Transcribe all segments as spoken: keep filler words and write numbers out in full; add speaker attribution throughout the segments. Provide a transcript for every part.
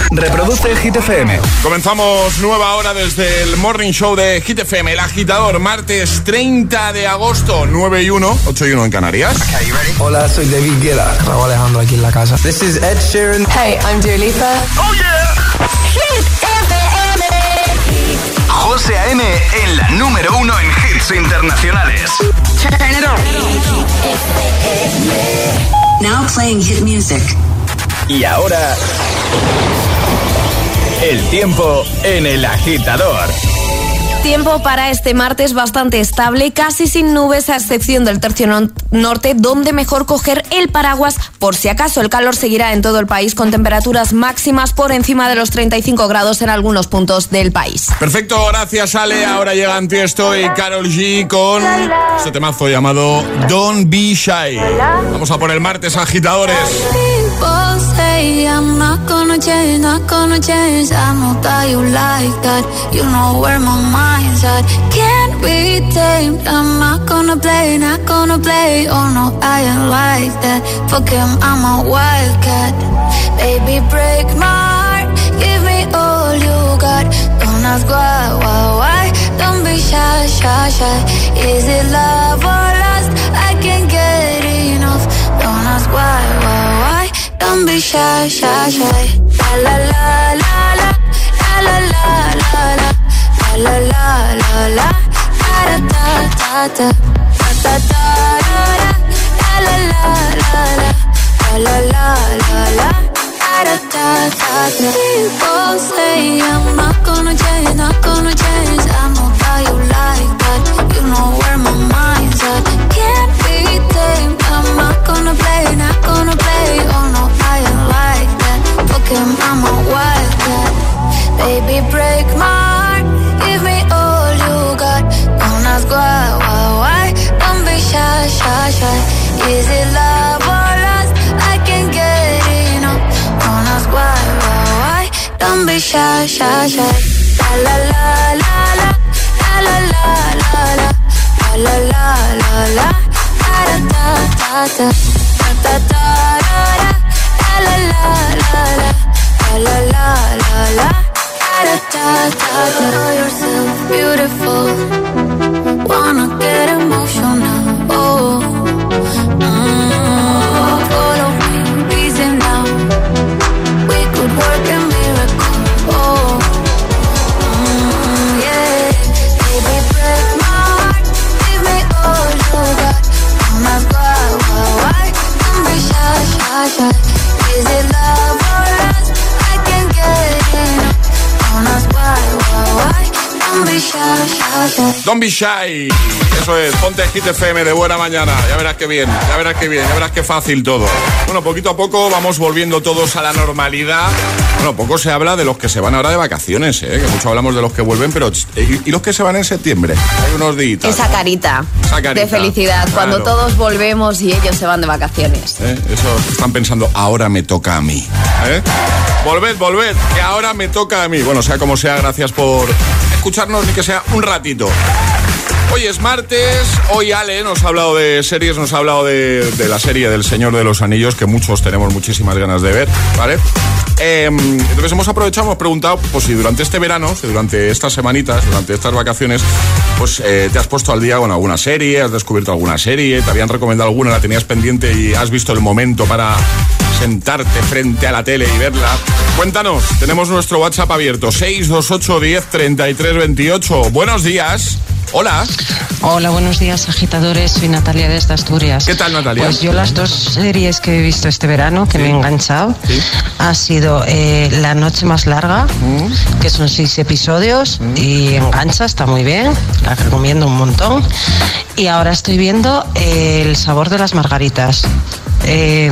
Speaker 1: Reproduce Hit F M.
Speaker 2: Comenzamos nueva hora desde el Morning Show de Hit F M, El Agitador, martes treinta de agosto, nueve y uno, ocho y uno en Canarias.
Speaker 3: Okay, you ready?
Speaker 4: Hola, soy David Guetta. Raúl Alejandro aquí en la casa.
Speaker 3: This is Ed Sheeran.
Speaker 5: Hey, I'm Dua Lipa.
Speaker 2: ¡Oh, yeah!
Speaker 5: Hit F M.
Speaker 1: José A M en la número uno en hits internacionales.
Speaker 5: Turn it on.
Speaker 6: Now playing hit music.
Speaker 1: Y ahora, el tiempo en El Agitador.
Speaker 7: Tiempo para este martes bastante estable, casi sin nubes a excepción del tercio no- norte, donde mejor coger el paraguas por si acaso. El calor seguirá en todo el país con temperaturas máximas por encima de los treinta y cinco grados en algunos puntos del país.
Speaker 2: Perfecto, gracias Ale. Ahora llegan Tiesto y Karol G con este temazo llamado Don't Be Shy. Vamos a por el martes, agitadores.
Speaker 8: People say I'm not gonna change, not gonna change. I know that you like that. You know where my mind's at. Can't be tamed. I'm not gonna play, not gonna play. Oh no, I ain't like that. Fuck him, I'm a wildcat. Baby, break my heart. Give me all you got. Don't ask why, why, why. Don't be shy, shy, shy. Is it love or lust? I can't get enough. Don't ask why, why, why. Don't be shy, shy, shy. La la la la la, la la la la la, la la la la, da da da da, da da da da, la la la la, la la la la, da da da da. People say I'm not gonna change, not gonna change. I know how you like that. You know where my mind's at. Can't be tamed. I'm not gonna play, not gonna play. Oh no, I ain't like that. Fuck him, I'm a wildcat. Baby, break my heart. Give me all you got. Don't ask why, why, why. Don't be shy, shy, shy. Is it love or lust? I can't get enough. Don't ask why, why, why. Don't be shy, shy, shy. La la la la la, la la la la la, la la la la, da da da da, da da da da, la la la la, la la la la, da da da da. Know yourself beautiful. Wanna get emotional. Oh, mm, follow me, easy now. We could work a miracle. Oh, mm, yeah. Baby, break my heart. Give me all you got. Don't ask why, why, why. Don't be shy, shy, shy. Is it love or lust? I can't get enough. Don't ask why, why, why. Don't be shy, shy, shy.
Speaker 2: Don't be shy. Eso es, ponte Hit F M de buena mañana. Ya verás qué bien, ya verás qué bien, ya verás qué fácil todo. Bueno, poquito a poco vamos volviendo todos a la normalidad. Bueno, poco se habla de los que se van ahora de vacaciones, ¿eh? Que mucho hablamos de los que vuelven, pero ¿y, y los que se van en septiembre? Hay unos días.
Speaker 7: Esa carita,
Speaker 2: Esa carita
Speaker 7: de felicidad,
Speaker 2: claro.
Speaker 7: Cuando todos volvemos y ellos se van de vacaciones.
Speaker 2: ¿Eh? Eso están pensando, ahora me toca a mí. ¿Eh? Volved, volved, que ahora me toca a mí. Bueno, sea como sea, gracias por escucharnos, ni que sea un ratito. Hoy es martes, hoy Ale nos ha hablado de series, nos ha hablado de, de la serie del Señor de los Anillos, que muchos tenemos muchísimas ganas de ver, ¿vale? Eh, entonces hemos aprovechado, hemos preguntado, pues si durante este verano, si durante estas semanitas, durante estas vacaciones, pues eh, te has puesto al día con alguna serie, has descubierto alguna serie, te habían recomendado alguna, la tenías pendiente y has visto el momento para sentarte frente a la tele y verla. Cuéntanos, tenemos nuestro WhatsApp abierto, seis dos ocho, diez, treinta y tres, veintiocho. Buenos días. Hola.
Speaker 9: Hola, buenos días, agitadores. Soy Natalia desde Asturias.
Speaker 2: ¿Qué tal, Natalia?
Speaker 9: Pues yo las dos series que he visto este verano, que
Speaker 2: sí.
Speaker 9: me he enganchado,
Speaker 2: sí.
Speaker 9: ha sido eh, La Noche Más Larga, mm. que son seis episodios mm. y engancha, está muy bien, la recomiendo un montón. Y ahora estoy viendo eh, El Sabor de las Margaritas. Eh,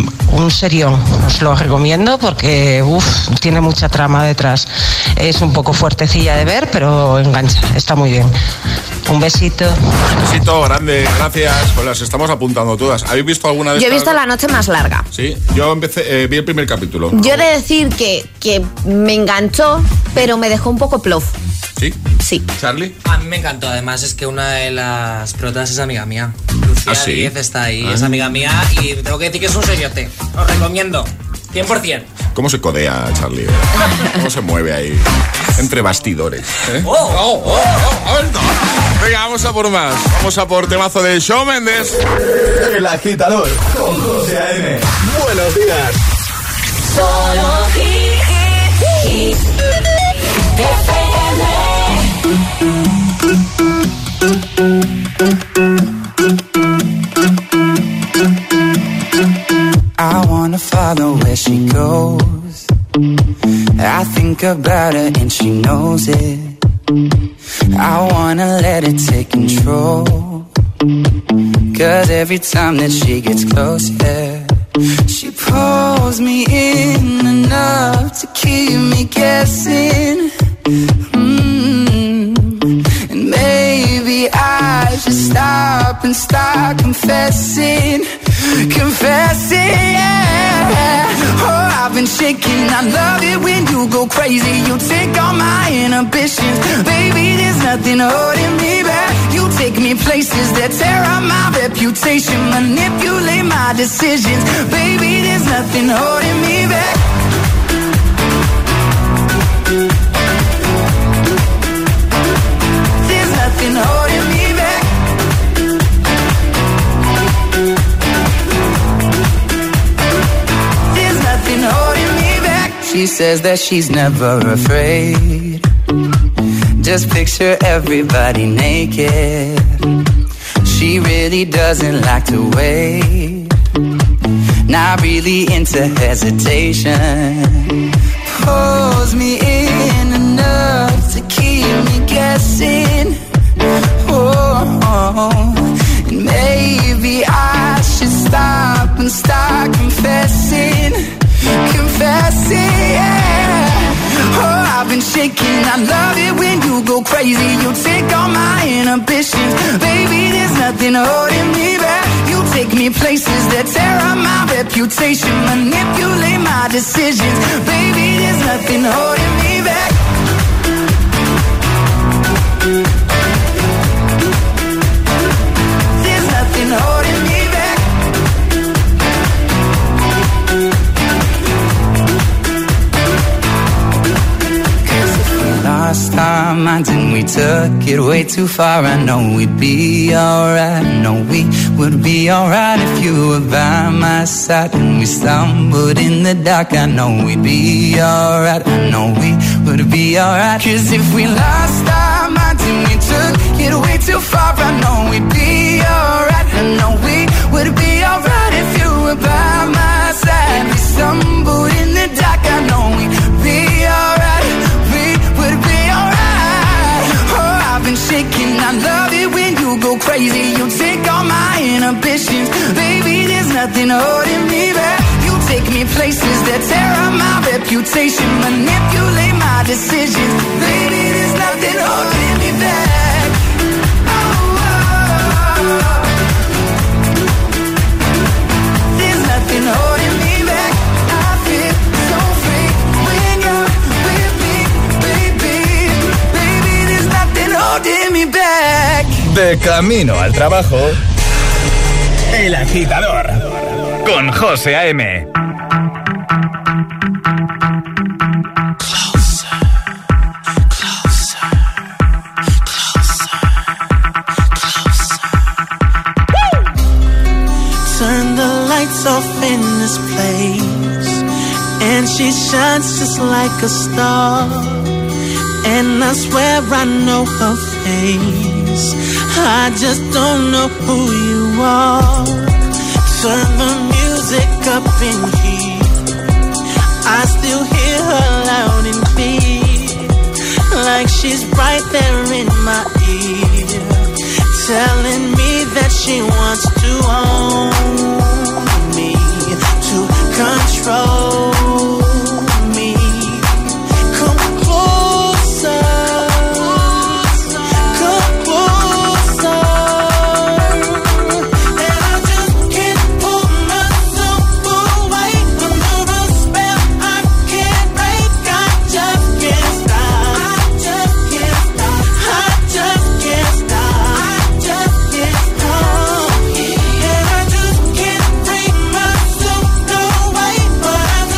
Speaker 9: un serión, os lo recomiendo porque uf, tiene mucha trama detrás. Es un poco fuertecilla de ver, pero engancha, está muy bien. Un besito.
Speaker 2: Un besito grande, gracias. Pues las estamos apuntando todas. ¿Habéis visto alguna de
Speaker 7: Yo
Speaker 2: estas?
Speaker 7: he visto La Noche Más Larga.
Speaker 2: Sí, yo empecé, eh, vi el primer capítulo.
Speaker 7: Yo he de decir que, que me enganchó, pero me dejó un poco plof.
Speaker 2: ¿Sí?
Speaker 7: Sí.
Speaker 2: ¿Charlie?
Speaker 10: A mí me encantó, además es que una de las protas es amiga mía. Lucía
Speaker 2: ¿Ah, sí?
Speaker 10: Díez está ahí,
Speaker 2: Ah.
Speaker 10: es amiga mía y tengo que decir que es un seriote. Os recomiendo. cien por ciento.
Speaker 2: ¿Cómo se codea, Charlie? ¿Cómo se mueve ahí? Entre bastidores. ¿eh?
Speaker 10: Oh, oh, oh,
Speaker 2: oh, oh. Venga, vamos a por más. Vamos a por temazo de Shawn Mendes.
Speaker 1: El agitador con José A M. Buenos días.
Speaker 5: Solo hit, hit,
Speaker 3: I wanna follow where she goes. I think about her and she knows it. I wanna let it take control. Cause every time that she gets close, yeah, she pulls me in enough to keep me guessing. Mm-hmm. And maybe I should stop and start confessing. Confessing, yeah. Oh, I've been shaking. I love it when you go crazy. You take all my inhibitions. Baby, there's nothing holding me back. You take me places that tear up my reputation. Manipulate my decisions. Baby, there's nothing holding me back. There's nothing holding me back. Holding me back. She says that she's never afraid. Just picture everybody naked. She really doesn't like to wait. Not really into hesitation. Pulls me in enough to keep me guessing. Oh, oh. And maybe I should stop and start confessing. Confessing, yeah. Oh, I've been shaking. I love it when you go crazy. You take all my inhibitions. Baby, there's nothing holding me back. You take me places that tear up my reputation. Manipulate my decisions. Baby, there's nothing holding me back. There's nothing holding me back. Lost our minds and we took it way too far. I know we'd be alright. I know we would be alright if you were by my side. And we stumbled in the dark. I know we'd be alright. I know we would be alright. Cause if we lost our minds and we took it way too far, I know we'd be alright. I know we would be alright if you were by my side. We stumbled in the dark. I know we'd be alright. Shaking, I love it when you go crazy. You take all my inhibitions. Baby, there's nothing holding me back. You take me places that tear up my reputation. Manipulate my decisions. Baby, there's nothing holding me back. Oh, oh, oh. There's nothing holding me back. I feel so free when you're with me, baby. Baby, there's nothing holding me back.
Speaker 1: De camino al trabajo, El Agitador con José A M.
Speaker 11: Turn the lights off in this place, and she shines just like a star. And I swear I know her face, I just don't know who you are. Turn the music up in here, I still hear her loud and clear, like she's right there in my ear, telling me that she wants to own me, to control me. Come closer, come closer, and I just can't pull myself away under a spell I can't break. I just can't stop, I just can't stop, I just can't stop, I just can't stop, and I just can't bring myself away, but I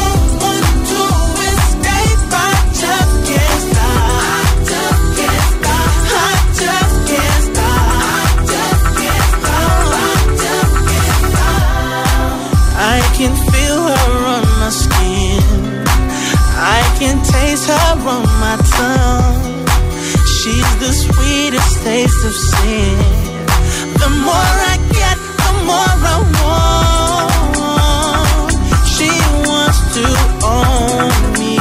Speaker 11: can taste her on my tongue. She's the sweetest taste of sin. The more I get, the more I want. She wants to own me.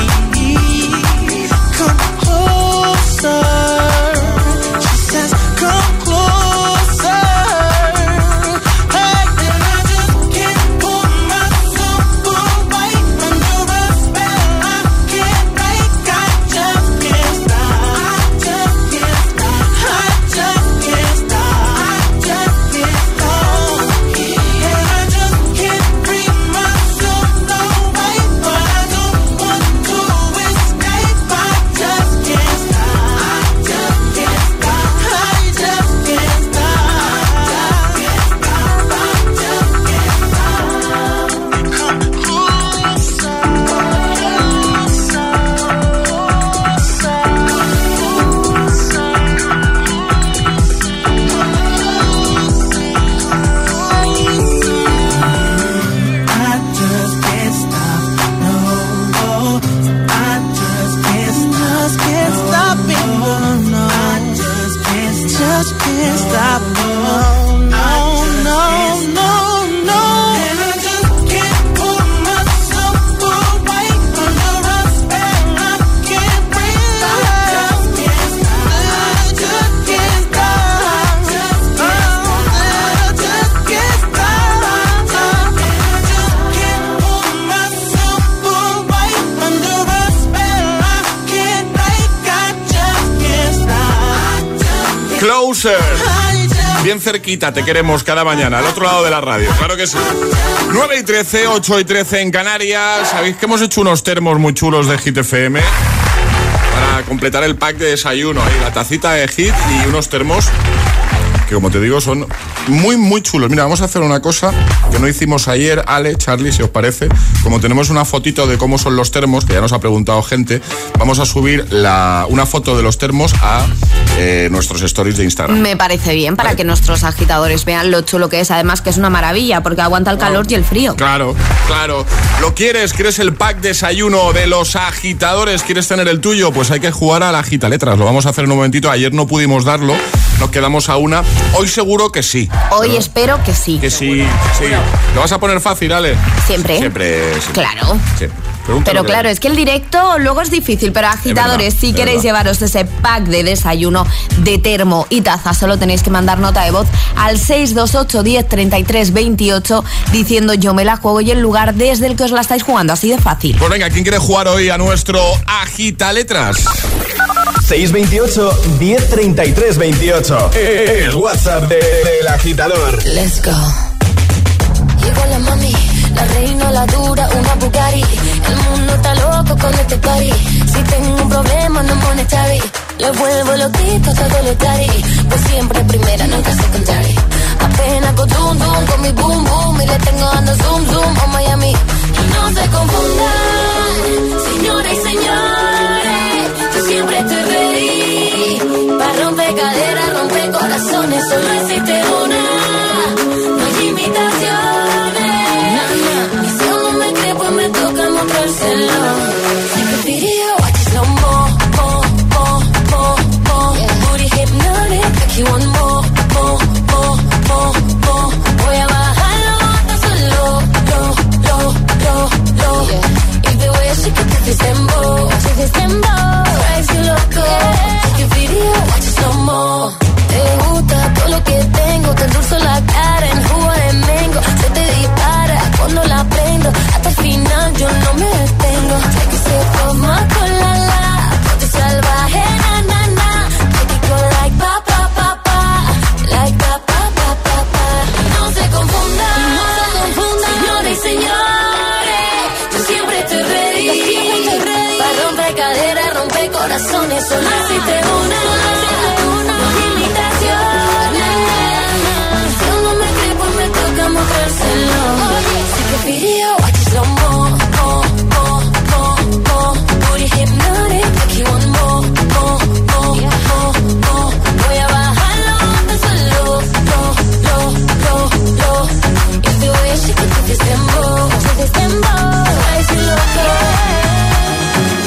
Speaker 11: Come closer. She says, come closer. Hey, and I just can't pull myself away under a spell I can't break. I just can't stop. I just can't stop. I just can't stop. I just can't stop. And I just can't bring myself away, but I don't want to escape. I just can't stop. I just can't stop. I just can't stop. Come closer. I just can't stop, no, no. I just can't stop, can't stop it, no, no. I just can't, just can't stop, no, no, no, no, no. And I just can't pull myself away under a spell I can't breathe. I just can't stop, I just can't stop, oh, I just can't stop. And I just can't pull myself away under a spell I can't break. I just can't stop.
Speaker 2: Closer.
Speaker 11: I just
Speaker 2: Bien cerquita, te queremos cada mañana, al otro lado de la radio, claro que sí. nueve y trece, ocho y trece en Canarias. Sabéis que hemos hecho unos termos muy chulos de Hit F M para completar el pack de desayuno. Ahí, la tacita de Hit y unos termos que, como te digo, son muy, muy chulos. Mira, vamos a hacer una cosa que no hicimos ayer, Ale, Charlie, si os parece. Como tenemos una fotito de cómo son los termos, que ya nos ha preguntado gente, vamos a subir la, una foto de los termos a eh, nuestros stories de Instagram.
Speaker 7: Me parece bien para
Speaker 2: Vale.
Speaker 7: que nuestros agitadores vean lo chulo que es. Además que es una maravilla porque aguanta el calor y el frío.
Speaker 2: Claro, claro. ¿Lo quieres? ¿Quieres el pack desayuno de los agitadores? ¿Quieres tener el tuyo? Pues hay que jugar a la agita letras. Lo vamos a hacer en un momentito. Ayer no pudimos darlo. Nos quedamos a una. Hoy seguro que sí.
Speaker 7: Hoy
Speaker 2: ¿verdad?
Speaker 7: espero que sí.
Speaker 2: Que sí, sí. ¿Lo vas a poner fácil, Ale?
Speaker 7: Siempre.
Speaker 2: Siempre, siempre.
Speaker 7: Claro.
Speaker 2: Sí. Pregúntalo
Speaker 7: Pero
Speaker 2: que-
Speaker 7: claro, es que el directo luego es difícil, pero agitadores,
Speaker 2: verdad,
Speaker 7: si
Speaker 2: es
Speaker 7: queréis
Speaker 2: verdad.
Speaker 7: llevaros ese pack de desayuno de termo y taza, solo tenéis que mandar nota de voz al seis dos ocho, diez, treinta y tres, veintiocho diciendo yo me la juego y el lugar desde el que os la estáis jugando, así de fácil.
Speaker 2: Pues venga, ¿quién quiere jugar hoy a nuestro agita letras?
Speaker 1: seis veintiocho, diez, treinta y tres, veintiocho. El WhatsApp de- del agitador.
Speaker 8: Let's go. Llegó la mami, la reina, la dura, una Bugatti. El mundo está loco con este party. Si tengo un problema no monetary, le vuelvo loquito todo lo tari. Pues siempre primera, nunca secondary. Apenas con zoom zoom con mi boom boom y le tengo dando zoom zoom a Miami. Y no se confundan, señoras y señores, yo siempre estoy ready. Pa' romper caderas, romper corazones, solo existe una. No hay imitaciones. Y si aún no me cree, pues me toca mostrárselo. Take a video, watch it slow mo, mo, mo, mo, mo. Booty hypnotic, make you want more, more, more, more, more. Voy a bajarlo hasta solo, lo, lo, lo, lo. If the way she can do this dembow, do this dembow, drives you loco. Take a video, watch it slow mo. Te gusta todo lo que tengo, te endulzo la cara en jugo de mango. Se te dispara cuando la prendo, hasta el final yo no me detengo. Take a sip of my cola, la, ponte salvaje, na, na, na. Make it go like pa, pa, pa, pa, like pa, pa, pa, pa, pa. No se confundan, no se confundan, señores y señores, yo siempre estoy ready, yo siempre estoy ready. Pa' romper caderas, romper corazones, solo existe una. Take a video, watch it slow mo, mo, mo, mo, mo. Booty hypnotic, make you want more, more, more, more, more. Voy a bajarlo hasta solo, lo, lo, lo, lo. If the way she can do this dembow, do this dembow, drives you loco.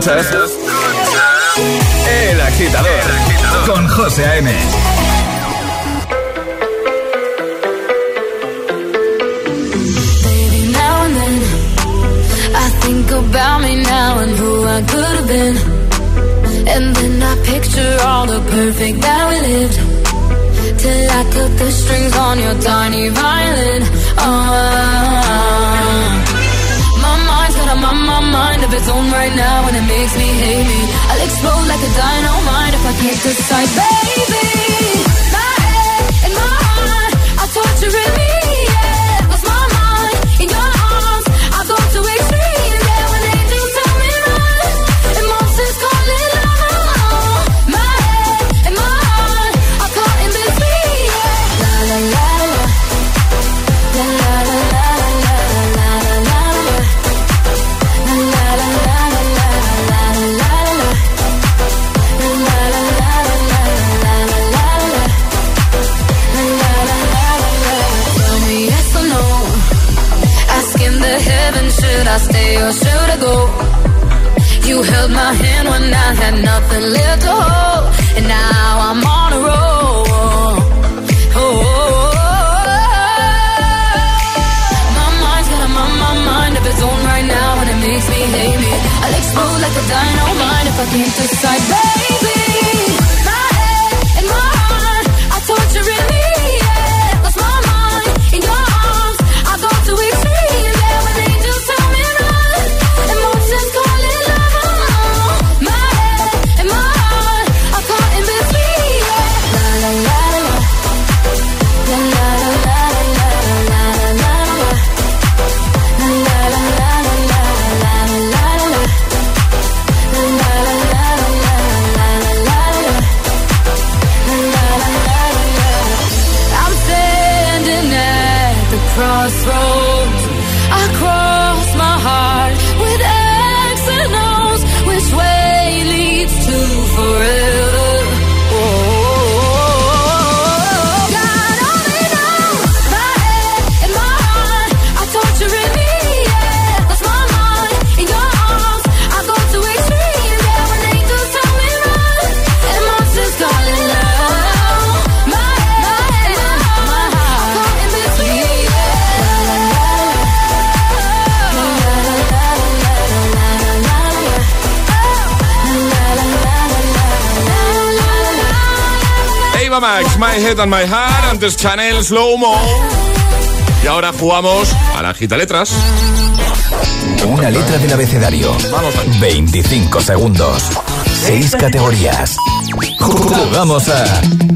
Speaker 1: escuchas El Agitador con José A M.
Speaker 8: Baby, now and then I think about me now and who I could have been. And then I picture all the perfect that we lived. Till I cut the strings on your tiny violin. Oh, my mind's got a my, my mind of its own right now, and it makes me hate me. I'll explode like a dynamite if I can't decide, baby. My head and my heart are torturing me. Yeah, lost my mind in your arms. I go to extreme. Yeah, when angels tell me run, emotions call it love. My head and my heart are caught in between. Yeah, la la la la, la la la la la la la la la. La la la la la la la la. La la la la la la la la la. La la la la. Tell me yes or no. Asking the heavens, should I stay or should I go? You held my hand when I had nothing left to hold, and now I'm on a roll. Oh, oh, oh. My mind's got a my, my mind of its own right now, and it makes me hate me. I'll explode like a dynamite if I can't decide, baby. My head and my heart are torturing me. Yeah, lost my mind in your arms. I go to extreme. Yeah, when angels tell me run, emotions call it love. My head and my heart are caught in between. Yeah, la la la la, la la la la la la la la. La la la la la la la la la. La la la la la la la la. La la la la. I'm standing at the crossroads. I cross my heart with X and O's. Which way leads to forever? Oh, God only knows. My head and my heart are torturing me. Yeah, lost my mind in your arms. I go to extreme. Yeah, when angels tell me run, and monsters call it love. My head and my heart are caught in between. La la la la, la la la la la la la la. La la la la la la.
Speaker 2: Ava Max, My Head and My Heart. Antes Chanel, Slow Mo. Y ahora jugamos a la Gita Letras.
Speaker 1: Una letra del abecedario.
Speaker 2: Vamos a
Speaker 1: veinticinco segundos. seis categorías. Jugamos a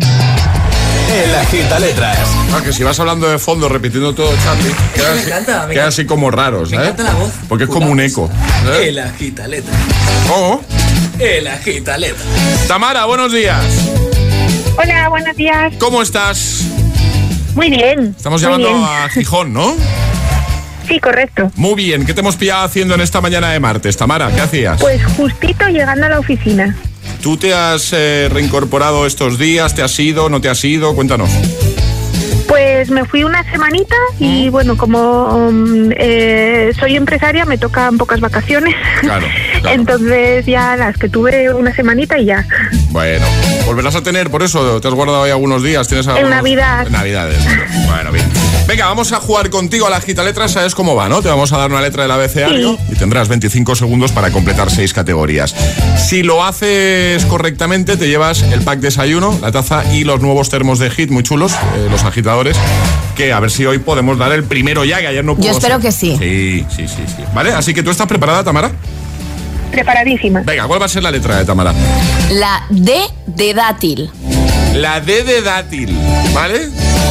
Speaker 1: El Agita Letras.
Speaker 2: Ah, que si vas hablando de fondo repitiendo todo, Charlie, queda,
Speaker 10: Me
Speaker 2: así,
Speaker 10: encanta, me
Speaker 2: queda
Speaker 10: encanta.
Speaker 2: así como raro,
Speaker 10: Me
Speaker 2: ¿sabes?
Speaker 10: encanta la voz.
Speaker 2: Porque es como un eco. ¿sabes?
Speaker 10: El agita letra.
Speaker 2: ¿Cómo?
Speaker 10: El agita letra.
Speaker 2: Tamara, buenos días.
Speaker 12: Hola, buenos días.
Speaker 2: ¿Cómo estás?
Speaker 12: Muy bien.
Speaker 2: Estamos
Speaker 12: muy
Speaker 2: llamando
Speaker 12: bien.
Speaker 2: a Gijón, ¿no?
Speaker 12: Sí, correcto.
Speaker 2: Muy bien. ¿Qué te hemos pillado haciendo en esta mañana de martes, Tamara? ¿Qué hacías?
Speaker 12: Pues justito llegando a la oficina.
Speaker 2: ¿Tú te has eh, reincorporado estos días? ¿Te has ido? ¿No te has ido? Cuéntanos.
Speaker 12: Pues me fui una semanita y bueno, como um, eh, soy empresaria me tocan pocas vacaciones.
Speaker 2: Claro, claro.
Speaker 12: Entonces ya las que tuve una semanita y ya.
Speaker 2: Bueno, ¿volverás a tener por eso? ¿Te has guardado ahí algunos días? ¿Tienes algunos...
Speaker 12: Navidad.
Speaker 2: En Navidades. Bueno, bien. Venga, vamos a jugar contigo a la Gita Letras. ¿Sabes cómo va, no? Te vamos a dar una letra del abecedario
Speaker 12: Sí.
Speaker 2: y tendrás veinticinco segundos para completar seis categorías. Si lo haces correctamente, te llevas el pack desayuno, la taza y los nuevos termos de Hit, muy chulos, eh, los agitadores, que a ver si hoy podemos dar el primero ya, que ayer no pudo
Speaker 7: Yo espero
Speaker 2: ser.
Speaker 7: que sí.
Speaker 2: Sí, sí, sí, sí. ¿Vale? Así que tú estás preparada, Tamara.
Speaker 12: Preparadísima.
Speaker 2: Venga, ¿cuál va a ser la letra de Tamara?
Speaker 7: La D de dátil.
Speaker 2: La D de dátil, ¿vale?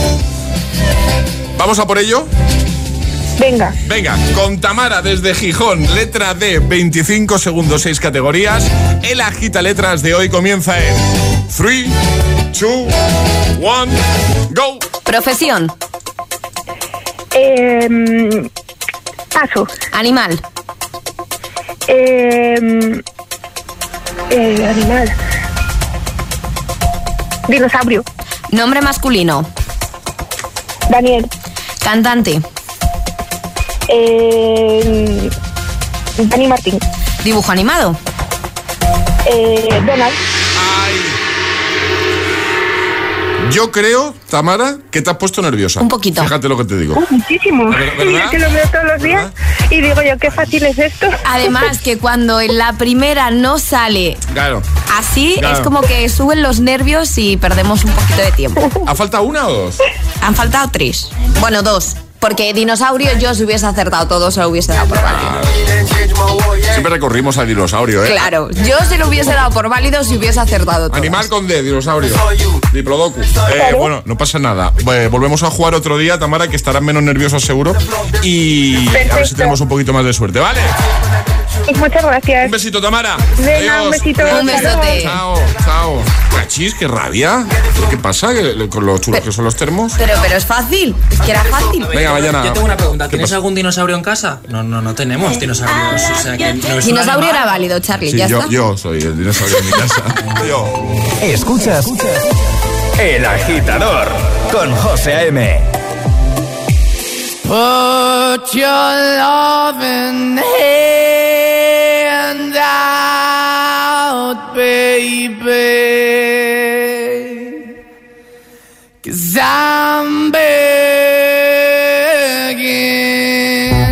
Speaker 2: ¿Vamos a por ello?
Speaker 12: Venga.
Speaker 2: Venga, con Tamara desde Gijón, letra D, veinticinco segundos, seis categorías. El Agita Letras de hoy comienza en tres, dos, uno, go.
Speaker 7: Profesión.
Speaker 12: Eh, paso.
Speaker 7: Animal.
Speaker 12: Eh, eh, animal. Dinosaurio.
Speaker 7: Nombre masculino.
Speaker 12: Daniel.
Speaker 7: Cantante.
Speaker 12: Eh, Dani Martín.
Speaker 7: Dibujo animado.
Speaker 12: Eh, Donald.
Speaker 2: Ay. Yo creo, Tamara, que te has puesto nerviosa.
Speaker 7: Un poquito.
Speaker 2: Fíjate lo que te digo.
Speaker 12: Uh, muchísimo.
Speaker 2: ¿Verdad?
Speaker 12: Que lo veo todos los días y digo yo, qué fácil es esto.
Speaker 7: Además, que cuando en la primera no sale
Speaker 2: Claro.
Speaker 7: así,
Speaker 2: Claro.
Speaker 7: es como que suben los nervios y perdemos un poquito de tiempo.
Speaker 2: ¿Ha faltado una o dos?
Speaker 7: Han faltado tres. Bueno, dos. Porque dinosaurio yo si hubiese acertado todo se lo hubiese dado por válido.
Speaker 2: Siempre recorrimos al dinosaurio, ¿eh?
Speaker 7: Claro, yo se lo hubiese dado por válido si hubiese acertado todo.
Speaker 2: Animal con D, dinosaurio. Diplodocus. Eh, bueno, no pasa nada. Eh, volvemos a jugar otro día, Tamara, que estarán menos nerviosos seguro. Y
Speaker 12: Perfecto.
Speaker 2: a ver si tenemos un poquito más de suerte, ¿vale?
Speaker 12: Muchas gracias.
Speaker 2: Un besito, Tamara.
Speaker 12: Venga, un besito.
Speaker 7: Un besote.
Speaker 2: Chao, chao. Cachis, qué rabia. ¿Qué pasa ¿Qué- con los chulos que son los termos?
Speaker 7: Pero, pero es fácil, es que era fácil.
Speaker 2: Venga, mañana.
Speaker 10: Yo tengo una pregunta.
Speaker 2: ¿Qué
Speaker 10: ¿Tienes
Speaker 2: pasa?
Speaker 10: algún dinosaurio en casa? No, no, no tenemos dinosaurios. O sea que no es un
Speaker 7: Dinosaurio
Speaker 10: animal.
Speaker 7: era válido, Charlie,
Speaker 2: Sí,
Speaker 7: ya
Speaker 2: yo,
Speaker 7: está.
Speaker 2: yo soy el dinosaurio en mi casa. Yo.
Speaker 1: Escuchas El Agitador con José A M.
Speaker 11: Put your loving hand out, baby, 'cause I'm begging.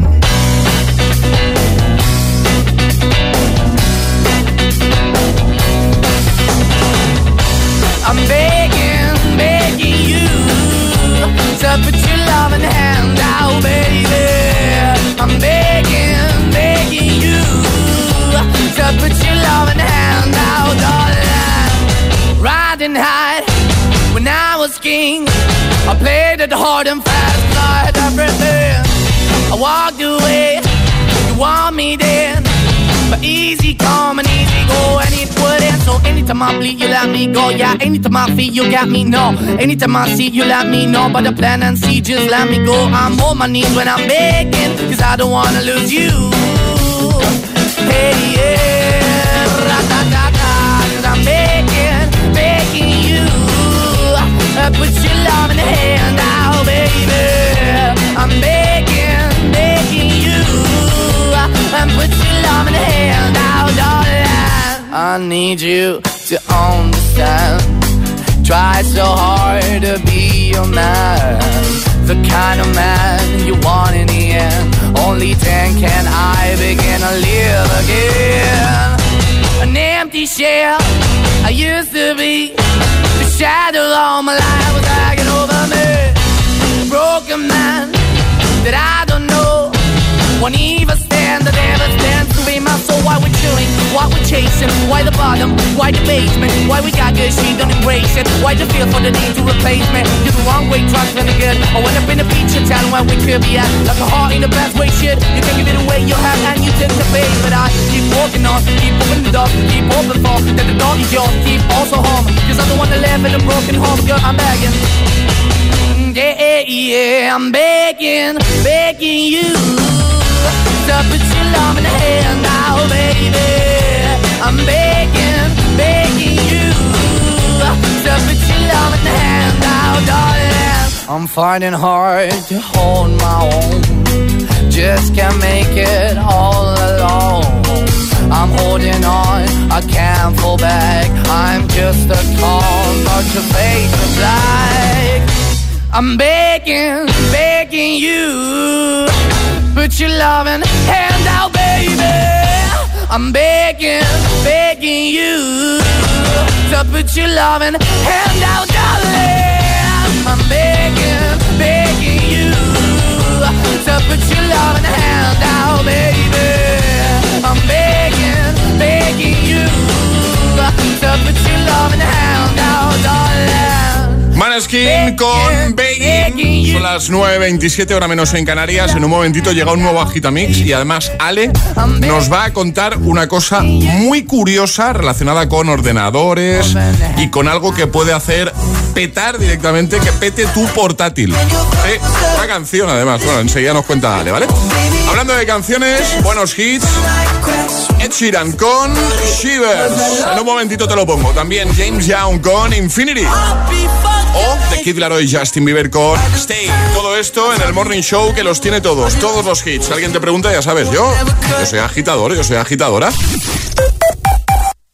Speaker 11: I'm begging, begging you to put your loving hand out, baby. I'm begging, begging you to put your loving hand out, darling. Riding high when I was king, I played it hard and fast, I had everything. I walked away, you want me then, but easy come and easy go, and it wouldn't. So anytime I bleed, you let me go. Yeah, anytime I feel, you got me, no. Anytime I see, you let me know. But the plan and see, just let me go. I'm on my knees when I'm begging, 'cause I don't wanna lose you. Hey, yeah, ra-da-da-da, 'cause I'm begging, begging you. Uh, put your love in the hand out, baby. I'm begging, begging you. And put your love in the hand out, darling. I need you to understand. Try so hard to be your man, the kind of man you want in the end. Only then can I begin to live again. An empty shell I used to be, the shadow all my life was hanging over me. A broken man that I don't know won't even stand, that never stands to be my soul. Why we're chilling, why we're chasing, why the bottom, why the basement, why we got good, she don't embrace it, why the feel for the need to replace me. You're the wrong way, trying to good. I went up in the feature town where we could be at, like a heart in the best way, shit. You can give it away, you have, and you tend to pay. But I keep walking on, keep opening the door, keep open for, that the door is yours, keep also home, 'cause I'm the one that live in a broken home, girl, I'm begging. Yeah, yeah, yeah, I'm begging, begging you to put your love in the hand now, baby. I'm begging, begging you to put your love in the hand now, darling. I'm finding hard to hold my own, just can't make it all alone. I'm holding on, I can't fall back, I'm just a call, but your face is black. I'm begging, begging you, put your loving hand out, baby. I'm begging, begging you to put your loving hand out, darling. I'm begging, begging you to put your loving hand out, baby. I'm begging, begging you to put your loving hand out, darling.
Speaker 2: Maneskin con Begging. Son las nueve veintisiete, hora menos en Canarias. En un momentito llega un nuevo Agitamix y además Ale nos va a contar una cosa muy curiosa relacionada con ordenadores y con algo que puede hacer petar directamente, que pete tu portátil. Eh, una canción además. Bueno, enseguida nos cuenta Ale, ¿vale? Hablando de canciones, buenos hits. Ed Sheeran con Shivers. En un momentito te lo pongo. También James Young con Infinity. O The Kid Laroi y Justin Bieber con Stay. Todo esto en el Morning Show que los tiene todos, todos los hits. Si alguien te pregunta, ya sabes, yo, yo soy agitador, yo soy agitadora.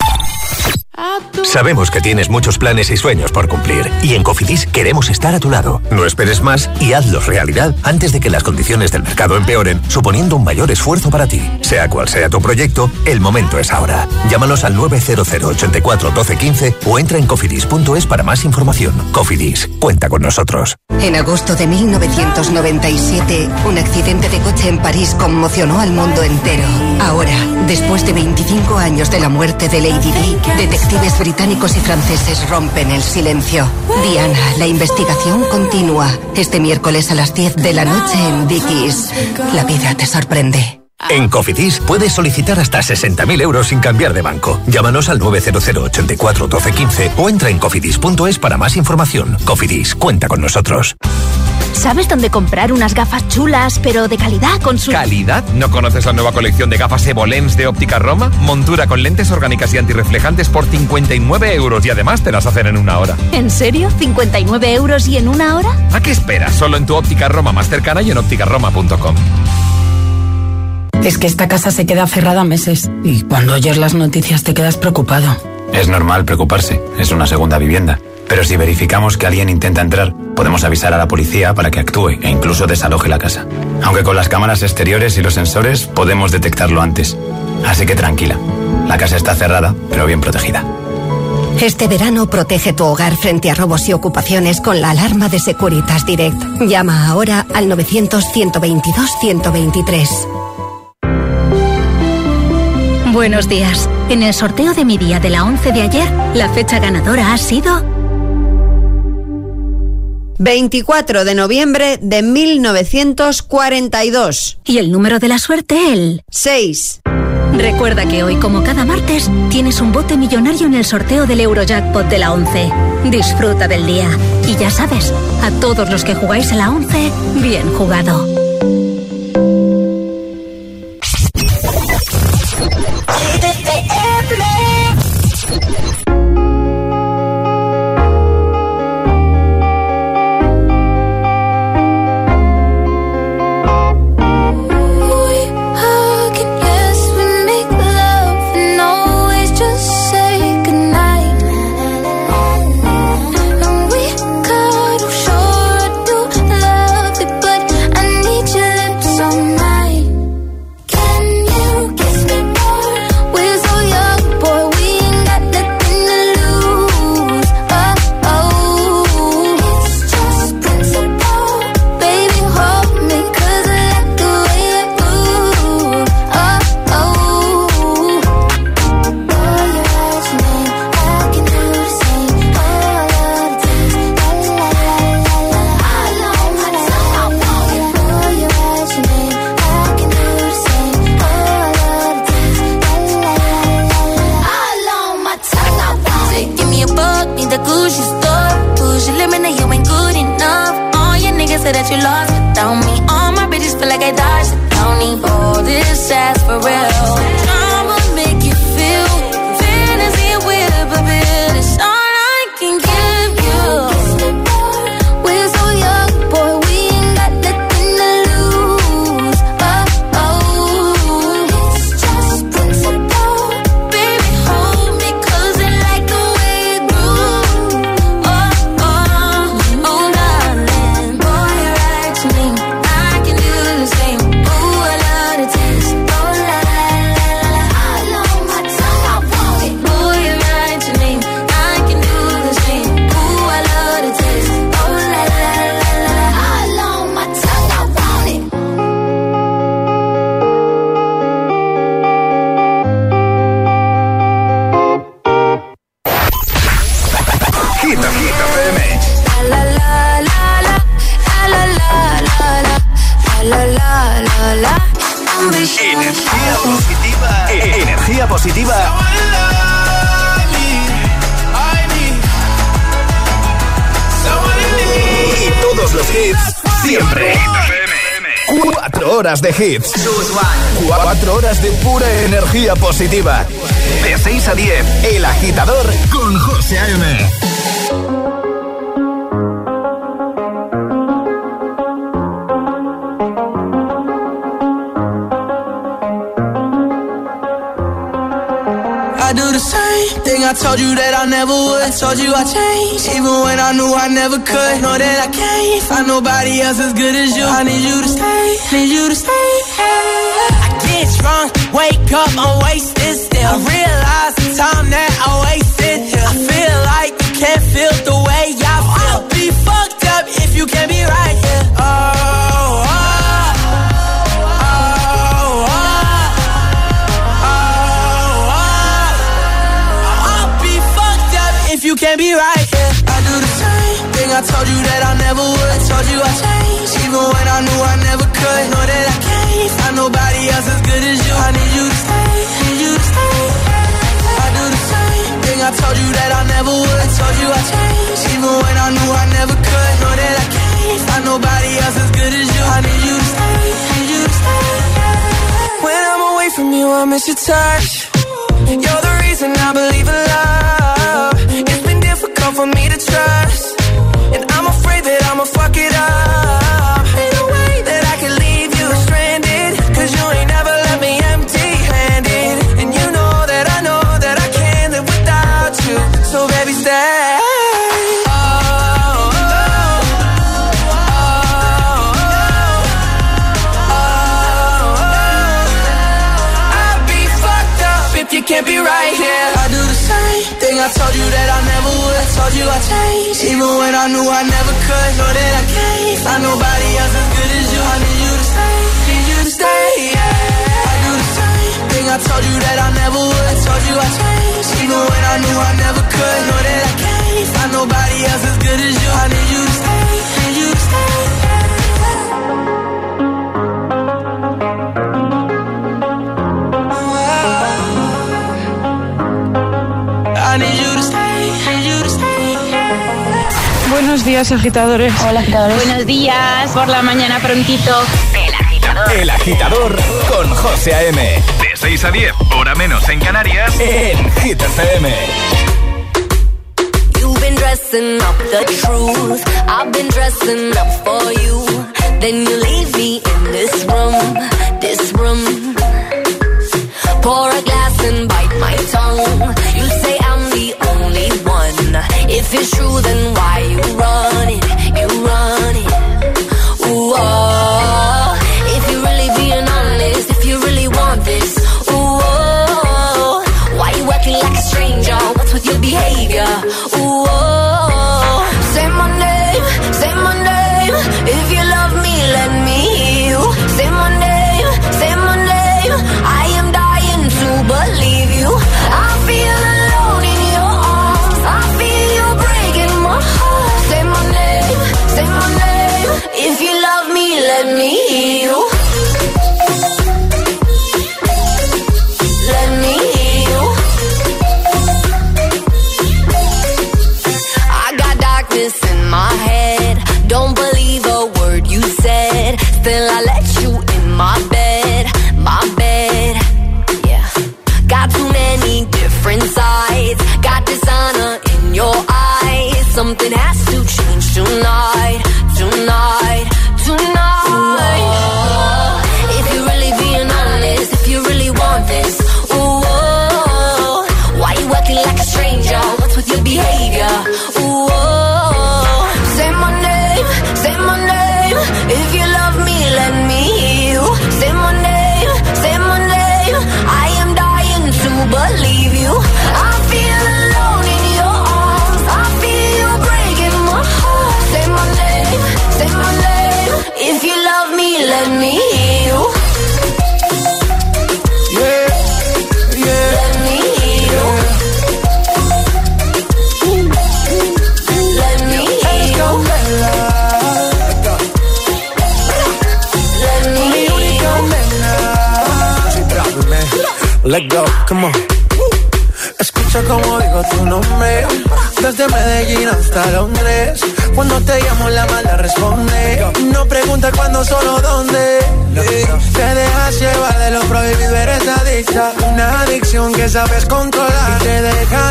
Speaker 13: Sabemos que tienes muchos planes y sueños por cumplir y en Cofidis queremos estar a tu lado. No esperes más y hazlos realidad antes de que las condiciones del mercado empeoren, suponiendo un mayor esfuerzo para ti. Sea cual sea tu proyecto, el momento es ahora. Llámanos al nueve cero cero, ocho cuatro, uno dos uno cinco o entra en cofidis punto es para más información. Cofidis, cuenta con nosotros.
Speaker 14: En agosto de mil novecientos noventa y siete, un accidente de coche en París conmocionó al mundo entero. Ahora, después de veinticinco años de la muerte de Lady Di, detectives británicos y franceses rompen el silencio. Diana, la investigación continúa. Este miércoles a las diez de la noche en Dickies. La vida te sorprende.
Speaker 13: En Cofidis puedes solicitar hasta sesenta mil euros sin cambiar de banco. Llámanos al nueve cero cero, ocho cuatro, uno dos uno cinco o entra en cofidis punto es para más información. Cofidis, cuenta con nosotros.
Speaker 15: ¿Sabes dónde comprar unas gafas chulas, pero de calidad con su...
Speaker 16: ¿Calidad? ¿No conoces la nueva colección de gafas Evolens de Óptica Roma? Montura con lentes orgánicas y antirreflejantes por cincuenta y nueve euros y además te las hacen en una hora.
Speaker 15: ¿En serio? ¿cincuenta y nueve euros y en una hora?
Speaker 16: ¿A qué esperas? Solo en tu Óptica Roma más cercana y en óptica roma punto com.
Speaker 17: Es que esta casa se queda cerrada meses y cuando oyes las noticias te quedas preocupado.
Speaker 18: Es normal preocuparse, es una segunda vivienda. Pero si verificamos que alguien intenta entrar, podemos avisar a la policía para que actúe e incluso desaloje la casa. Aunque con las cámaras exteriores y los sensores podemos detectarlo antes. Así que tranquila, la casa está cerrada, pero bien protegida.
Speaker 14: Este verano protege tu hogar frente a robos y ocupaciones con la alarma de Securitas Direct. Llama ahora al novecientos, ciento veintidós, ciento veintitrés.
Speaker 15: Buenos días. En el sorteo de mi día de la once de ayer, la fecha ganadora ha sido...
Speaker 19: veinticuatro de noviembre de mil novecientos cuarenta y dos.
Speaker 15: Y el número de la suerte, el...
Speaker 19: seis.
Speaker 15: Recuerda que hoy, como cada martes, tienes un bote millonario en el sorteo del Eurojackpot de la once. Disfruta del día. Y ya sabes, a todos los que jugáis a la once, bien jugado.
Speaker 1: Energía positiva. Energía positiva. Y todos los hits siempre. Cuatro horas de hits. Cuatro horas de pura energía positiva. De seis a diez, El Agitador con José A M.
Speaker 11: I do the same thing I told you that I never would. I told you I changed, even when I knew I never could. Know that I can't find nobody else as good as you. I need you to stay, need you to stay. I get drunk, wake up, I'm wasted still. I realize the time that I wasted here. I feel like you can't feel the way I feel. I'll be fucked up if you can't be right here. Oh, oh. You can't be right, yeah. I do the same thing I told you that I never would. I told you I changed, even when I knew I never could. Know that I can't find nobody else as good as you. I need you to stay, need you to stay. I do the same thing I told you that I never would. I told you I changed, even when I knew I never could. Know that I can't find nobody else as good as you. I need you to stay, need you to stay. When I'm away from you, I miss your touch. You're the reason I believe in love. It's been difficult for me to trust, and I'm afraid that I'ma fuck it up. Ain't no way that I can leave you stranded, cause you ain't never left me empty-handed. And you know that I know that I can't live without you. So baby, stay. You can't be right here. I do the same thing I told you that I never would. I told you I changed, even when I knew I never could. Know that I can't find nobody else as good as you. I need you to stay, need you to stay, yeah. I do the same thing I told you that I never would. I told you I changed, even when I knew I never could. Know that I can't find nobody else as good as you. I need you to stay, need you to stay.
Speaker 20: Buenos días, agitadores. Hola, agitadores. Buenos días, por la mañana prontito.
Speaker 1: El agitador. El agitador con José A M.
Speaker 13: De seis a diez, hora menos en Canarias.
Speaker 1: En Hit F M.
Speaker 5: You've been dressing up the truth. I've been dressing up for you. Then you leave me in this room, this room. Pour a glass and bite my tongue. You say I'm the only one. If it's true, then why you run it? You run it. Ooh, oh. If you're really being honest, if you really want this, ooh, oh. Why you acting like a stranger? What's with your behavior? Ooh, oh. Say my name, say my name. If you love me, let me hear you. Say my name, say my name. I am dying to believe you. I feel alone in your arms. I feel you breaking my heart. Say my name, say my name. If you love me, let me hear you. Let me hear you. I got darkness in my head. Don't believe a word you said. Still I let you in my bed, my bed. Yeah. Got too many different sides. Got dishonor in your eyes. Something has to change tonight, tonight, tonight. Ooh, if you're really being honest, if you really want this, ooh, oh, why you acting like a stranger? What's with your behavior? Ooh, oh, say my name, say my name. If you love me, let me hear you. Say my name, say my name. I am dying to believe you. I feel alone in your arms. I feel you breaking my heart. Say my name, say my name. If you love me, let me hear you.
Speaker 11: Yeah, yeah.
Speaker 5: Let me hear you. Let me hear you. Let me hear you.
Speaker 11: Let go, come on. Escucha como digo tu nombre. Desde Medellín hasta Londres. Cuando te llamo la mala responde. No pregunta cuándo, solo dónde. Te dejas llevar de lo prohibido, eres adicta. Una adicción que sabes controlar. Y te deja llevar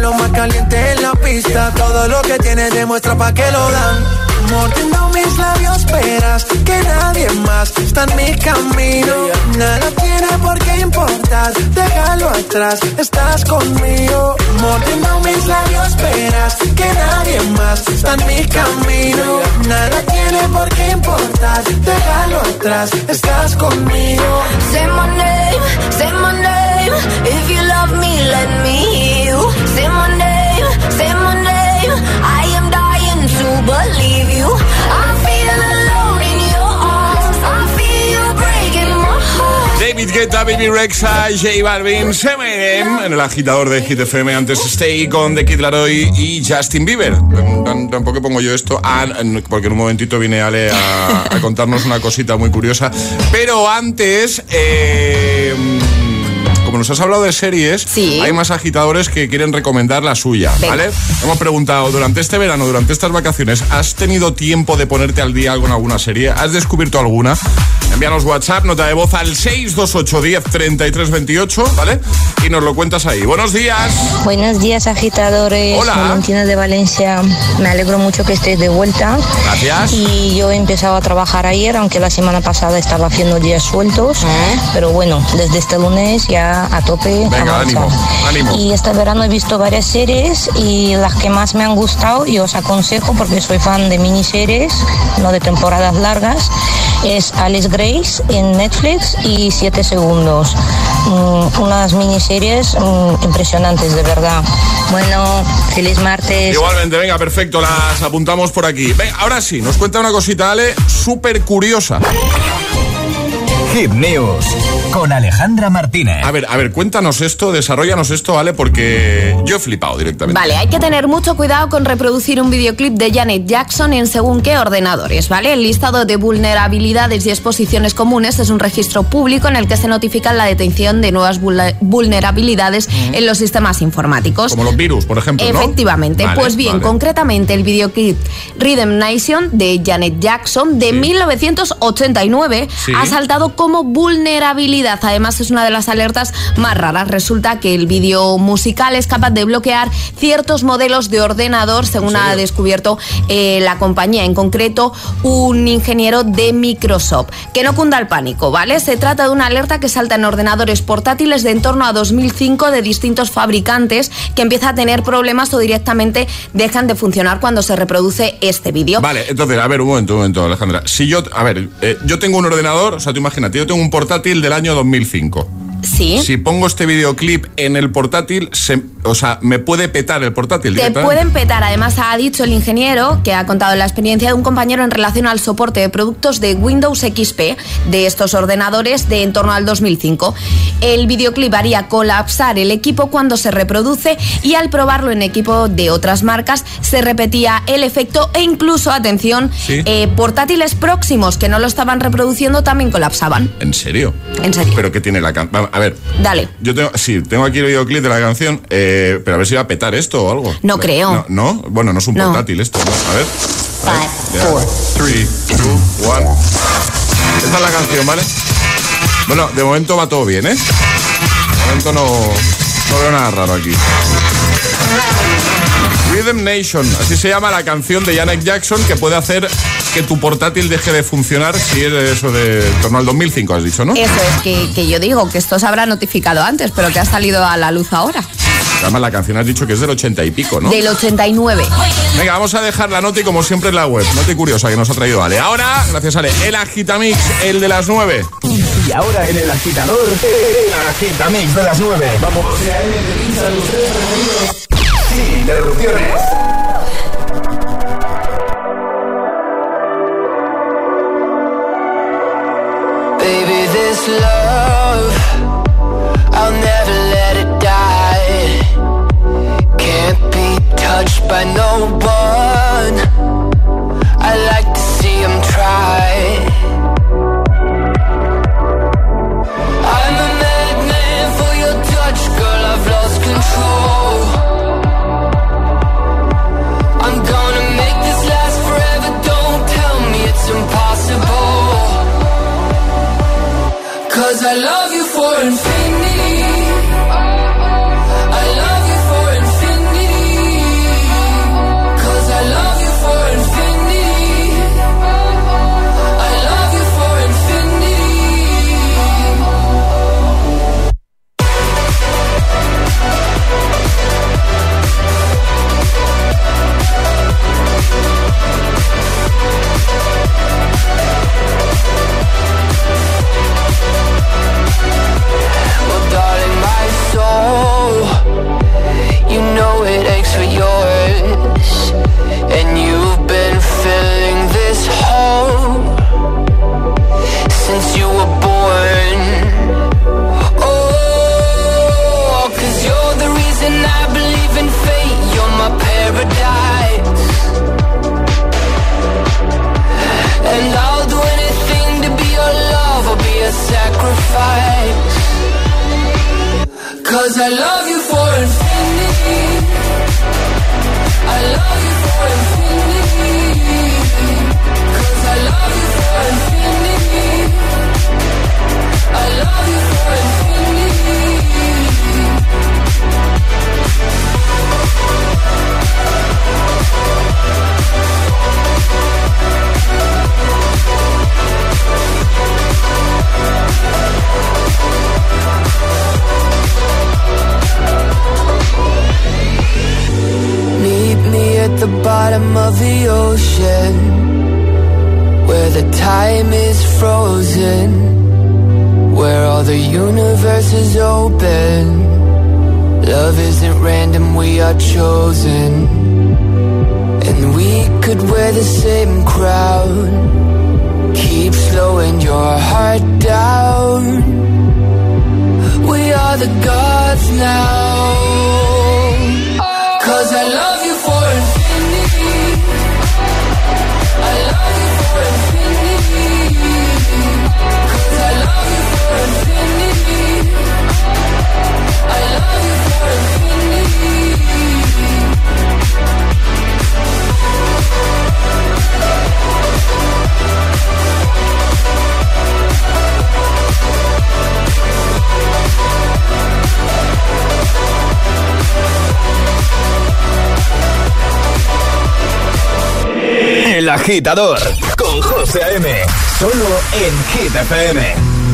Speaker 11: lo más caliente en la pista. Todo lo que tienes demuestra pa' que lo dan. Mordiendo mis labios, verás que nadie más está en mi camino. Nada tiene por qué importar, déjalo atrás, estás conmigo. Mordiendo mis labios, verás que nadie más está en mi camino. Nada tiene por qué importar, déjalo atrás, estás conmigo.
Speaker 5: Say my name, say my name. If you love me, let me hear you. Say my name, say my name. I am dying to believe you. I feel alone in your arms. I feel you breaking my heart.
Speaker 2: David Guetta, Baby Rexha, J Balvin, Eminem en el agitador de Hit F M. Antes Stay con The Kid Laroi y Justin Bieber. Tampoco pongo yo esto, ah, porque en un momentito viene Ale a, a contarnos una cosita muy curiosa. Pero antes... Eh, como nos has hablado de series, sí, hay más agitadores que quieren recomendar la suya, ¿vale? Venga. Hemos preguntado, durante este verano, durante estas vacaciones, ¿has tenido tiempo de ponerte al día con alguna serie? ¿Has descubierto alguna? Envíanos WhatsApp, nota de voz al seis dos ocho, diez, treinta y tres veintiocho, ¿vale? Y nos lo cuentas ahí. ¡Buenos días!
Speaker 21: Buenos días, agitadores.
Speaker 2: Hola.
Speaker 21: Valentina de Valencia. Me alegro mucho que estés de vuelta.
Speaker 2: Gracias.
Speaker 21: Y yo he empezado a trabajar ayer, aunque la semana pasada estaba haciendo días sueltos. ¿Eh? Pero bueno, desde este lunes ya a tope.
Speaker 2: Venga, ánimo, ánimo.
Speaker 21: Y este verano he visto varias series y las que más me han gustado, y os aconsejo porque soy fan de miniseries, no de temporadas largas, es Alice Grace en Netflix y siete segundos. Mm, unas miniseries mm, impresionantes, de verdad. Bueno, feliz martes.
Speaker 2: Igualmente, venga, perfecto, las apuntamos por aquí. Venga, ahora sí, nos cuenta una cosita, Ale, súper curiosa.
Speaker 1: Hit News con Alejandra Martínez.
Speaker 2: A ver, a ver, cuéntanos esto, desarróllanos esto, ¿vale? Porque yo he flipado directamente.
Speaker 7: Vale, hay que tener mucho cuidado con reproducir un videoclip de Janet Jackson en según qué ordenadores, ¿vale? El listado de vulnerabilidades y exposiciones comunes es un registro público en el que se notifica la detección de nuevas vulnerabilidades mm. en los sistemas informáticos.
Speaker 2: Como los virus, por ejemplo, ¿no?
Speaker 7: Efectivamente. Vale, pues bien, vale. Concretamente el videoclip Rhythm Nation de Janet Jackson de sí. mil novecientos ochenta y nueve sí. ha saltado como vulnerabilidad. Además, es una de las alertas más raras. Resulta que el vídeo musical es capaz de bloquear ciertos modelos de ordenador, según ha descubierto eh, la compañía, en concreto un ingeniero de Microsoft. Que no cunda el pánico, ¿vale? Se trata de una alerta que salta en ordenadores portátiles de en torno a dos mil cinco de distintos fabricantes, que empieza a tener problemas o directamente dejan de funcionar cuando se reproduce este vídeo.
Speaker 2: Vale, entonces, a ver, un momento, un momento, Alejandra. Si yo, a ver, eh, yo tengo un ordenador, o sea, tú imagínate, yo tengo un portátil del año dos mil cinco.
Speaker 7: Sí.
Speaker 2: Si pongo este videoclip en el portátil, se, o sea, me puede petar el portátil.
Speaker 7: Te pueden petar. Además, ha dicho el ingeniero que ha contado la experiencia de un compañero en relación al soporte de productos de Windows X P de estos ordenadores de en torno al dos mil cinco. El videoclip haría colapsar el equipo cuando se reproduce, y al probarlo en equipo de otras marcas se repetía el efecto, e incluso, atención, ¿sí? eh, portátiles próximos que no lo estaban reproduciendo también colapsaban.
Speaker 2: ¿En serio?
Speaker 7: En serio.
Speaker 2: ¿Pero qué tiene la canción? A ver.
Speaker 7: Dale.
Speaker 2: Yo tengo, sí, tengo aquí el videoclip de la canción, eh, pero a ver si va a petar esto o algo.
Speaker 7: No creo.
Speaker 2: No, ¿no? Bueno, no es un
Speaker 7: no.
Speaker 2: portátil esto, ¿no? A ver.
Speaker 7: Five, four,
Speaker 2: three, two, one. Esta es la canción, ¿vale? Bueno, de momento va todo bien, ¿eh? De momento no, no veo nada raro aquí. Rhythm Nation, así se llama la canción de Janet Jackson, que puede hacer que tu portátil deje de funcionar si es eso de en torno al dos mil cinco, has dicho, ¿no?
Speaker 7: Eso es, que, que yo digo que esto se habrá notificado antes, pero que ha salido a la luz ahora.
Speaker 2: Además, la canción has dicho que es del ochenta y pico, ¿no?
Speaker 7: Del ochenta y nueve.
Speaker 2: Venga, vamos a dejar la nota y como siempre en la web. Nota curiosa que nos ha traído Ale. Ahora, gracias Ale, el Agitamix, el de las nueve.
Speaker 1: Y ahora en el agitador, el Agitamix de las nueve. Vamos. Sin interrupciones.
Speaker 3: Baby, this love, I'll never let it die. Can't be touched by no one. I like to see them try. I'm a madman for your touch, girl, I've lost control. the bottom of the ocean, where the time is frozen, where all the universe is open. Love isn't random, we are chosen. And we could wear the same crown, keep slowing your heart down. We are the gods now, 'cause I love you for infinity, I love you for infinity, 'cause I love you for infinity, I love you for infinity.
Speaker 1: El Agitador con José A M, solo en Hit F M.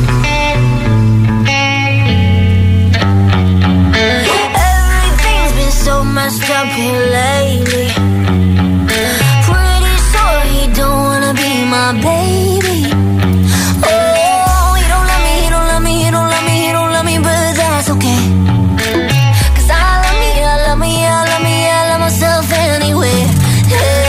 Speaker 8: Everything's been so messed up here lately. Pretty sure he don't wanna be my baby. Oh, he don't love me, he don't love me, he don't love me, he don't love me, but that's okay. 'Cause I love me, I love me, I love me, I love myself anyway. Hey.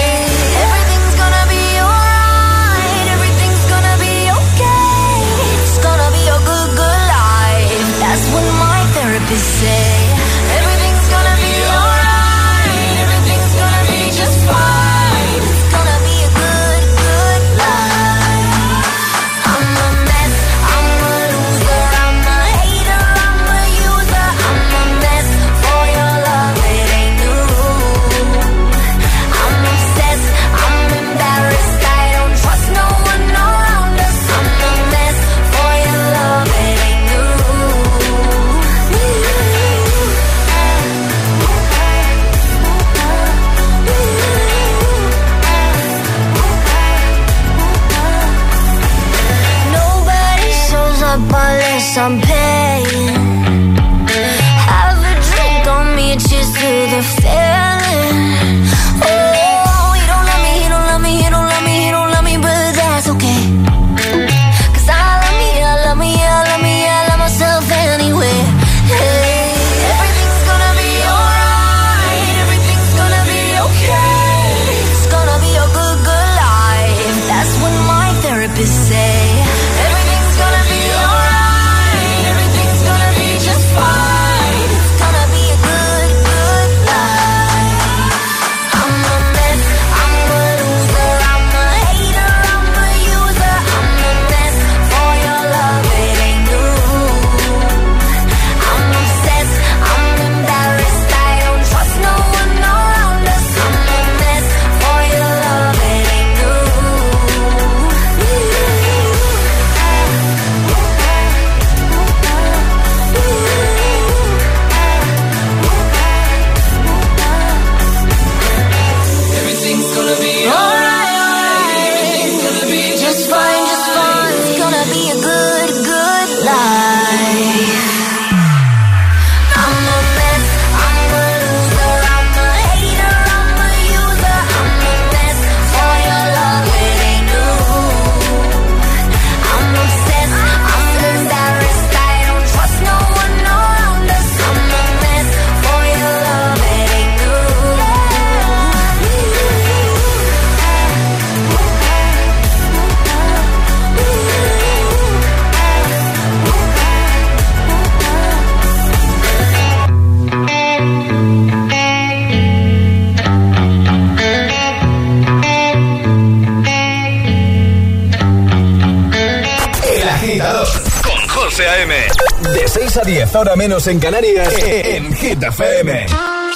Speaker 8: Say everything's gonna be alright, everything's gonna be just fine. It's gonna be a good, good life. I'm a mess, I'm a loser, I'm a hater, I'm a user. I'm a mess for your love, it ain't new. I'm obsessed, I'm embarrassed, I don't trust no one around us. I'm a mess for your love, it ain't new. Unless I'm paying. Have a drink on me, cheers to the feeling. Oh, he don't love me, he don't love me, he don't love me, he don't love me, but that's okay. 'Cause I love me, I love me, I love me, I love myself anyway. Hey, everything's gonna be alright, everything's gonna be okay. It's gonna be a good, good life. That's what my therapist say. Everything's gonna be alright, everything's gonna be just fine. It's gonna be a good, good life. I'm a mess, I'm a loser, I'm a hater, I'm a user. I'm a mess for your love, it ain't new. I'm obsessed, I'm embarrassed, I don't trust no one around us. I'm a mess for your love, it ain't new. Everything's gonna be alright, everything's gonna be just fine, just fine. It's gonna be a good, good life. I'm a mess, I'm a loser, I'm a hater, I'm a user. I'm a mess for your love, it ain't new. I'm obsessed, I'm embarrassed, I don't trust no one around us. I'm a mess for your love, it ain't new.
Speaker 1: El Agitador con José A M. De seis a diez, hora menos en Canarias, en Hit F M.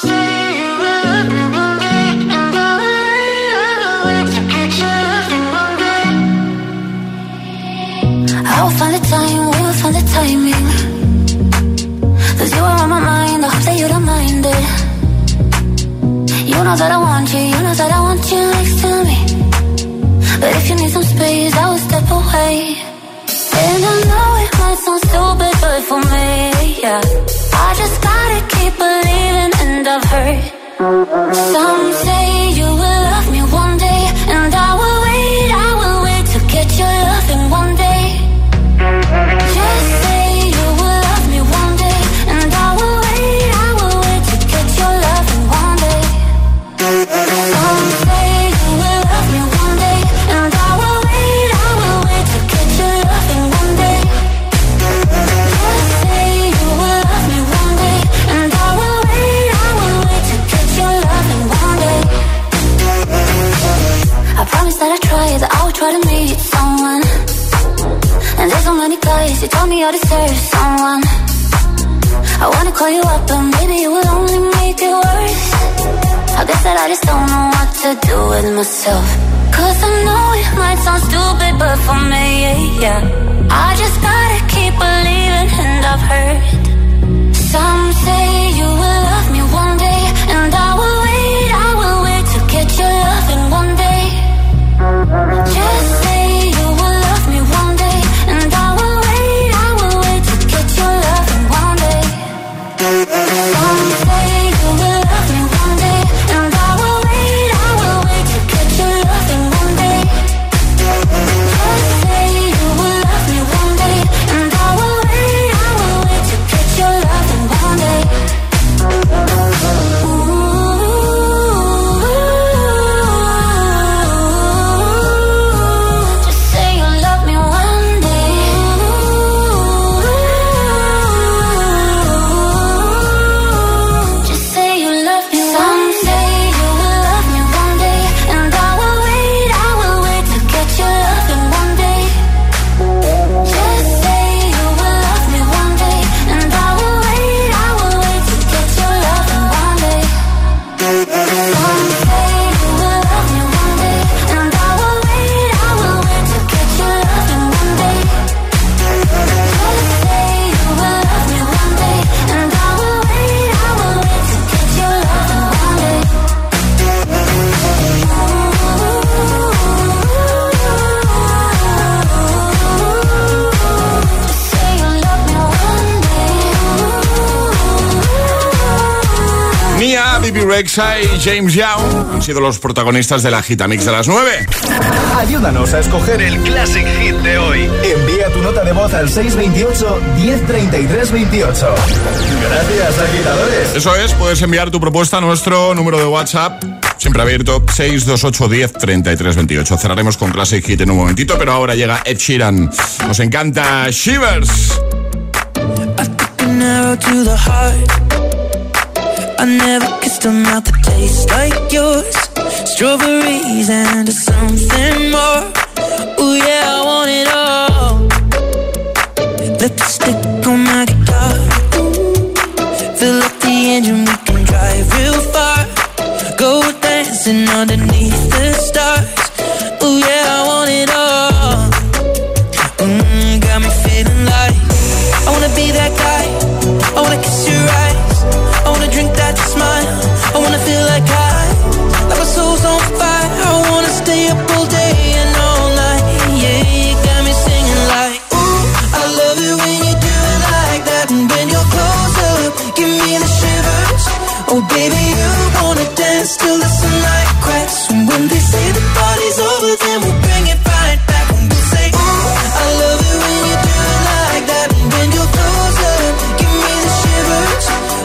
Speaker 8: I'll find the time, we'll find the timing. 'Cause you are on my mind, I hope that you don't mind it. You know that I want you, you know that I want you next to me. But if you need some space, I will step away. And I know it might sound stupid, but for me, yeah, I just gotta keep believing, and I've heard some say you She told me I deserve someone. I wanna call you up, but maybe it will only make it worse. I guess that I just don't know what to do with myself. Cause I know it might sound stupid, but for me, yeah, I just gotta keep believing, and I've heard some say you will love me one day, and I will wait, I will wait to get your loving one day. Just say you will love me one day, and I will wait, I will wait to get your loving one day. Some say you will love me one day, and I will wait, I will wait to get your loving one day. Just say you will love me one day, and I will wait, I will wait to get your loving one day.
Speaker 2: Bibi Rexha y James Young han sido los protagonistas de la Gitamix de las nueve.
Speaker 1: Ayúdanos a escoger el Classic Hit de hoy. Envía tu nota de voz al seis veintiocho, diez treinta y tres veintiocho. Gracias, agitadores.
Speaker 2: Eso es, puedes enviar tu propuesta a nuestro número de WhatsApp, siempre abierto, seis dos ocho, diez treinta y tres veintiocho. Cerraremos con Classic Hit en un momentito, pero ahora llega Ed Sheeran. Nos encanta Shivers.
Speaker 11: I never kissed a mouth that tastes like yours. Strawberries and something more. Ooh yeah, I want it all. Lipstick on my guitar. Fill up the engine, we can drive real far. Go dancing underneath the stars. Ooh yeah, I want it all. Mm, got me feeling like I wanna be that guy. I wanna kiss your eyes. I wanna drink that smile. I wanna feel like I, like my soul's on fire. I wanna stay up all day and all night. Yeah, you got me singing like, ooh, I love it when you do it like that. And when you're close up, give me the shivers. Oh baby, you wanna dance till the sunlight cracks. And when they say the party's over, then we'll bring it right back. And we'll say, ooh, I love it when you do it like that. And when you're close up, give me the shivers.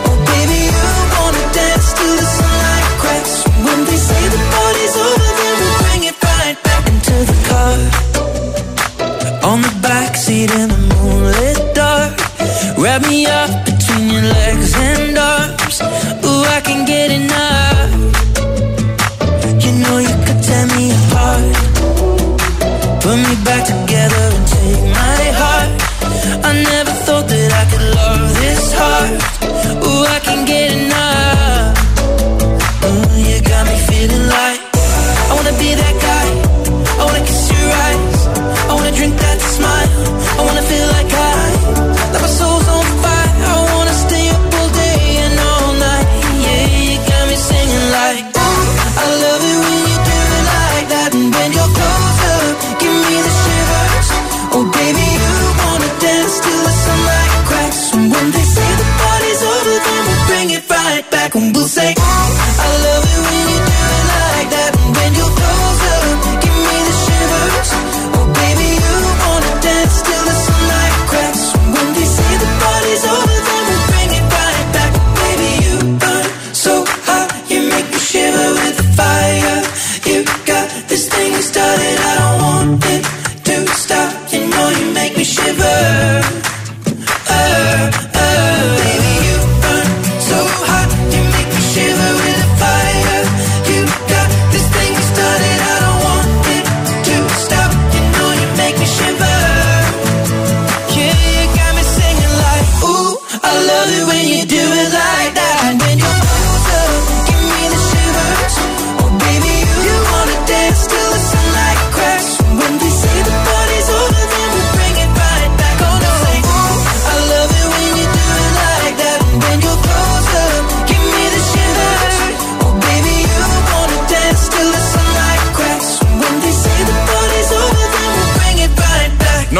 Speaker 11: Till the sunlight cracks. When they say the party's over, then we'll bring it right back into the car. On the backseat in the moonlit dark. Wrap me up between your legs and arms. Ooh, I can get enough. You know you could tear me apart. Put me back together and take my heart. I never thought that I could love this hard. Ooh, I can get enough. Ooh, you got me feeling like I wanna be that guy. I wanna kiss your eyes. I wanna drink that smile. I wanna feel like I, like my soul's on fire. I wanna stay up all day and all night. Yeah, you got me singing like, ooh, I love it when you do it like that. And when you're close up, give me the shivers. Oh baby, you wanna dance till the sunlight cracks. And when they say the party's over, then we'll bring it right back. And we'll say, I love it when you do it like that. And when you're close up, give me the shivers. Oh baby, you wanna dance till the sunlight cracks. When they say the party's over, then we'll bring it right back. Baby, you burn so hot, you make me shiver with the fire. You got this thing you started, I don't want it to stop. You know you make me shiver. Uh, uh, baby, you burn so hot, you make me shiver with the fire. You got this thing you started, I don't want it to stop. You know you make me shiver. Yeah.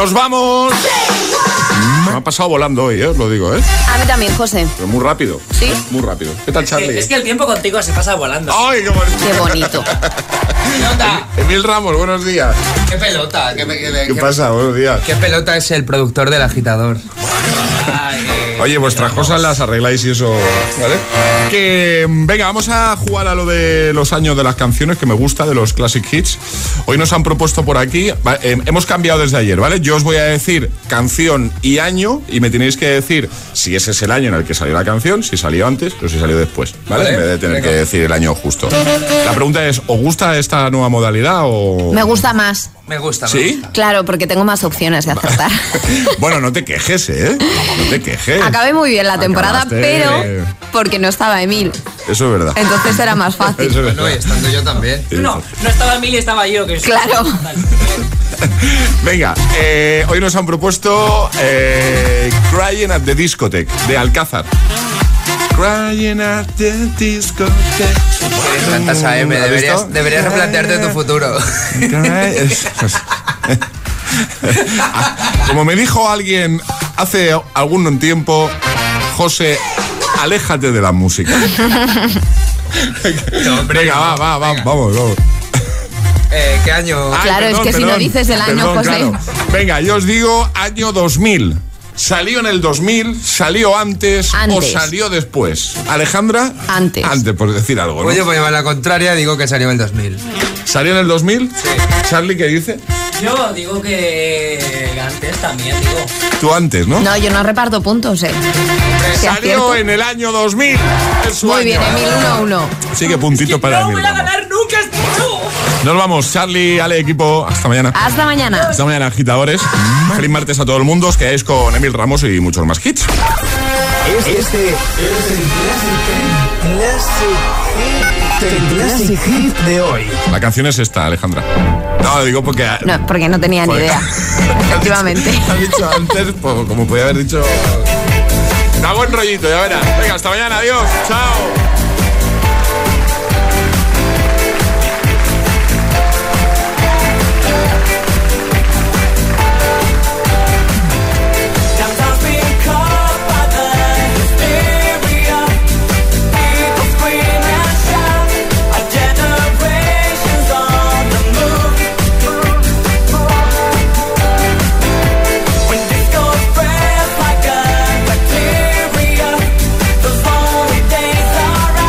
Speaker 2: ¡Nos vamos! Me ha pasado volando hoy, ¿eh? Os lo digo, ¿eh?
Speaker 7: A mí también, José.
Speaker 2: Pero muy rápido.
Speaker 7: ¿Sí?
Speaker 2: Muy rápido. ¿Qué tal, Charlie?
Speaker 10: Es que, es que el tiempo contigo se pasa volando.
Speaker 2: ¡Ay, qué bonito!
Speaker 7: Qué bonito.
Speaker 10: Pelota.
Speaker 2: Emil Ramos, buenos días.
Speaker 4: ¿Qué pelota? ¿Qué, qué,
Speaker 2: ¿Qué,
Speaker 4: qué
Speaker 2: pasa? Buenos días.
Speaker 4: ¿Qué pelota es el productor del agitador?
Speaker 10: Ay, eh,
Speaker 2: Oye, vuestras cosas las arregláis y eso, ¿vale? Que, venga, vamos a jugar a lo de los años de las canciones, que me gusta, de los classic hits. Hoy nos han propuesto por aquí, va, eh, hemos cambiado desde ayer, ¿vale? Yo os voy a decir canción y año y me tenéis que decir si ese es el año en el que salió la canción, si salió antes o si salió después, ¿vale?
Speaker 4: Vale,
Speaker 2: en vez de tener
Speaker 4: venga.
Speaker 2: que decir el año justo. La pregunta es, ¿os gusta esta nueva modalidad o...?
Speaker 7: Me gusta más.
Speaker 4: Me gusta, me
Speaker 2: ¿Sí?
Speaker 4: gusta.
Speaker 7: Claro, porque tengo más opciones de acertar.
Speaker 2: Bueno, no te quejes, ¿eh? No te quejes.
Speaker 7: Acabé muy bien la temporada,
Speaker 2: Acabaste-
Speaker 7: pero porque no estaba Emil.
Speaker 2: Eso es verdad.
Speaker 7: Entonces era más fácil.
Speaker 2: Eso es
Speaker 4: No, y
Speaker 2: verdad.
Speaker 4: estando yo también.
Speaker 10: no, no estaba Emilio, estaba yo. Que
Speaker 7: Claro.
Speaker 2: Venga, eh, hoy nos han propuesto eh, Crying at the Discotheque, de Alcázar. Crying at the Discotheque.
Speaker 4: Me encanta esa M,
Speaker 2: ¿Has
Speaker 4: deberías,
Speaker 2: visto?
Speaker 4: deberías replantearte tu futuro.
Speaker 2: Como me dijo alguien hace algún tiempo, José, aléjate de la música.
Speaker 4: No, hombre,
Speaker 2: Venga,
Speaker 4: no.
Speaker 2: va, va, va,
Speaker 4: Venga.
Speaker 2: vamos, vamos.
Speaker 4: Eh, ¿Qué año?
Speaker 2: Ay,
Speaker 7: Claro, es que si no dices el año,
Speaker 2: perdón,
Speaker 7: José.
Speaker 2: claro. Venga, yo os digo año dos mil. ¿Salió en el dos mil? ¿Salió antes,
Speaker 7: Antes.
Speaker 2: o salió después? ¿Alejandra?
Speaker 7: Antes.
Speaker 2: Antes, por decir algo, ¿no?
Speaker 4: Pues yo, por llevar la contraria, digo que salió en el dos mil.
Speaker 2: ¿Salió en el dos mil? Sí. ¿Charlie qué dice?
Speaker 10: Yo digo que antes también, digo.
Speaker 2: Tú antes, ¿no?
Speaker 7: No, yo no reparto puntos, eh. Si
Speaker 2: Salió
Speaker 7: acierto.
Speaker 2: en el año dos mil. Es su
Speaker 7: Muy
Speaker 2: año.
Speaker 7: bien, Emil, uno a uno.
Speaker 2: Sí, que puntito para
Speaker 10: No
Speaker 2: Emil
Speaker 10: voy a
Speaker 2: Ramos.
Speaker 10: ganar nunca esto.
Speaker 2: Nos vamos, Charlie, Ale, equipo. Hasta mañana.
Speaker 7: Hasta mañana.
Speaker 2: Hasta mañana, agitadores. Feliz martes a todo el mundo. Os quedáis con Emil Ramos y muchos más hits.
Speaker 1: Este es el Classic, el Classic Hit de hoy.
Speaker 2: La canción es esta, Alejandra. No, lo digo porque...
Speaker 7: No, porque no tenía ni
Speaker 2: Porque-
Speaker 7: idea. Efectivamente.
Speaker 2: Has dicho antes, pues, como podía haber dicho... Da buen rollito, ya verás. Venga, hasta mañana, adiós. Chao.
Speaker 11: Days are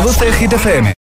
Speaker 1: Reproduce Hit F M.